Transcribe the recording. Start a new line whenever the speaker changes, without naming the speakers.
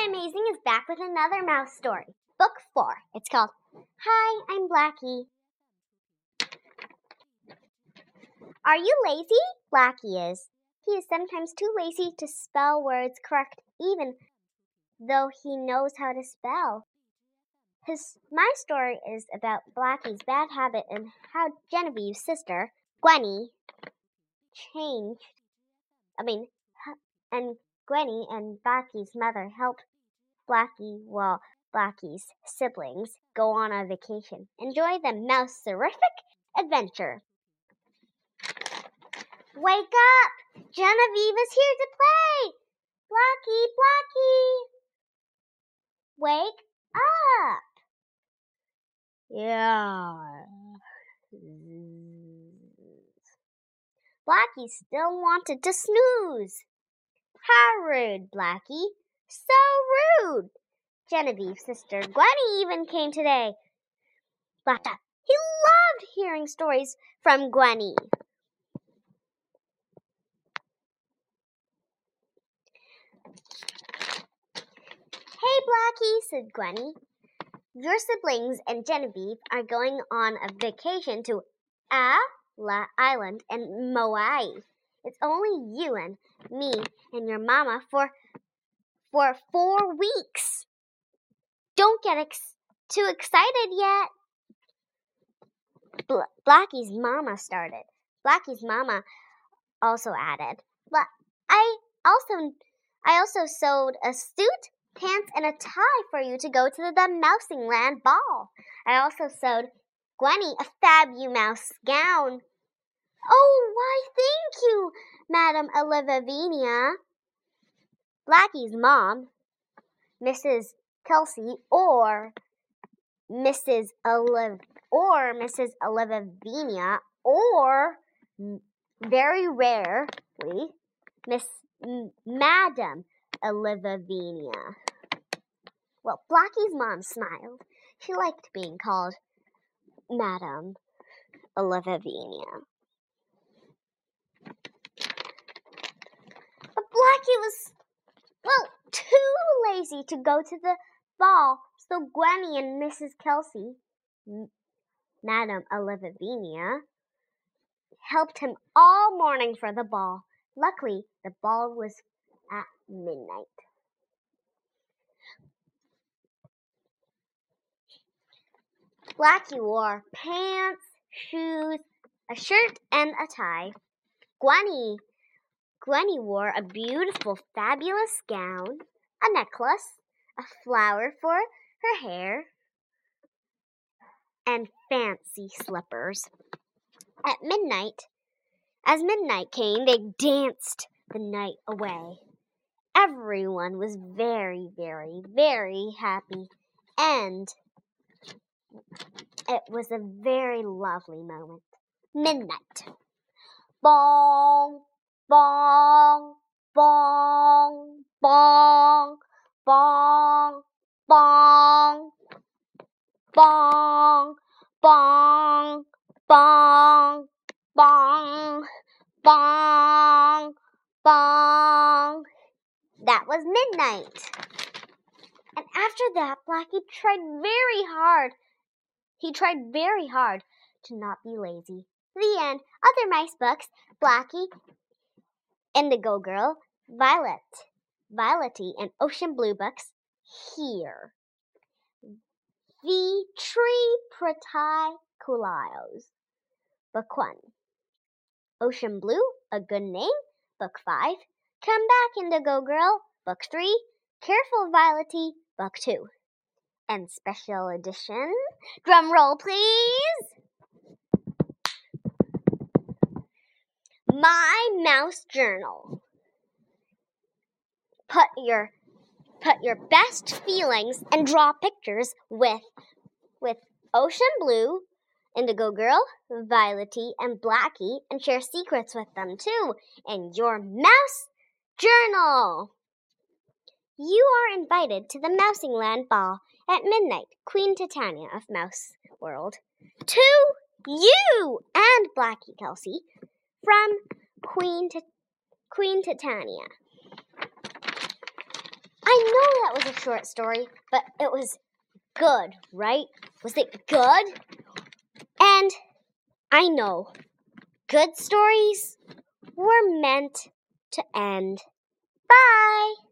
Hi Amazing is back with another mouse story. Book 4. It's called Hi, I'm Blackie. Are you lazy? Blackie is. He is sometimes too lazy to spell words correct even though he knows how to spell. My story is about Blackie's bad habit and how Genevieve's sister, Gwenny, and Gwenny and Blackie's mother helped Blackie while Blackie's siblings go on a vacation. Enjoy the mouse-terrific adventure. Wake up! Genevieve is here to play! Blackie, Blackie! Wake up! Yeah. Blackie still wanted to snooze. How rude, Blackie. So rude. Genevieve's sister Gwenny even came today. He loved hearing stories from Gwenny. Hey, Blackie, said Gwenny. Your siblings and Genevieve are going on a vacation to Ala Island in Maui. It's only you and me and your mama for 4 weeks. Don't get too excited yet. Blackie's mama started. Blackie's mama also added, I also sewed a suit, pants, and a tie for you to go to the Mousingland ball. I also sewed Gwenny a Fabumouse gown. Oh, why, thank you, Madam Olivia. Blackie's mom, Mrs. Kelsey, or Mrs. Olivia, or very rarely, Madam Olivia. Well, Blackie's mom smiled. She liked being called Madam Olivia. But Blackie was, too lazy to go to the ball, so Gwenny and Mrs. Kelsey, Madam Olivia, helped him all morning for the ball. Luckily, the ball was at midnight. Blackie wore pants, shoes, a shirt, and a tie. Gwenny wore a beautiful, fabulous gown, a necklace, a flower for her hair, and fancy slippers. As midnight came, they danced the night away. Everyone was very, very, very happy, and it was a very lovely moment. Midnight. Bong, bong, bong, bong, bong, bong, bong, bong, bong, bong, bong, bong. That was midnight. And after that, Blackie tried very hard. He tried very hard to not be lazy. The end. Other mice books, Blackie, Indigo Girl, Violetty, and Ocean Blue books here. The Tree Protikulios. Book 1. Ocean Blue, A Good Name. Book 5. Come Back, Indigo Girl. Book 3. Careful, Violetty. Book 2. And special edition. Drum roll, please. My Mouse Journal. Put your best feelings and draw pictures with Ocean Blue, Indigo Girl, Violetty, and Blackie, and share secrets with them too in your Mouse Journal. You are invited to the Mousingland Ball at midnight, Queen Titania of Mouse World. To you and Blackie Kelsey from Queen Titania. I that was a short story, but it was good, right? Was it good? And I know good stories were meant to end. Bye!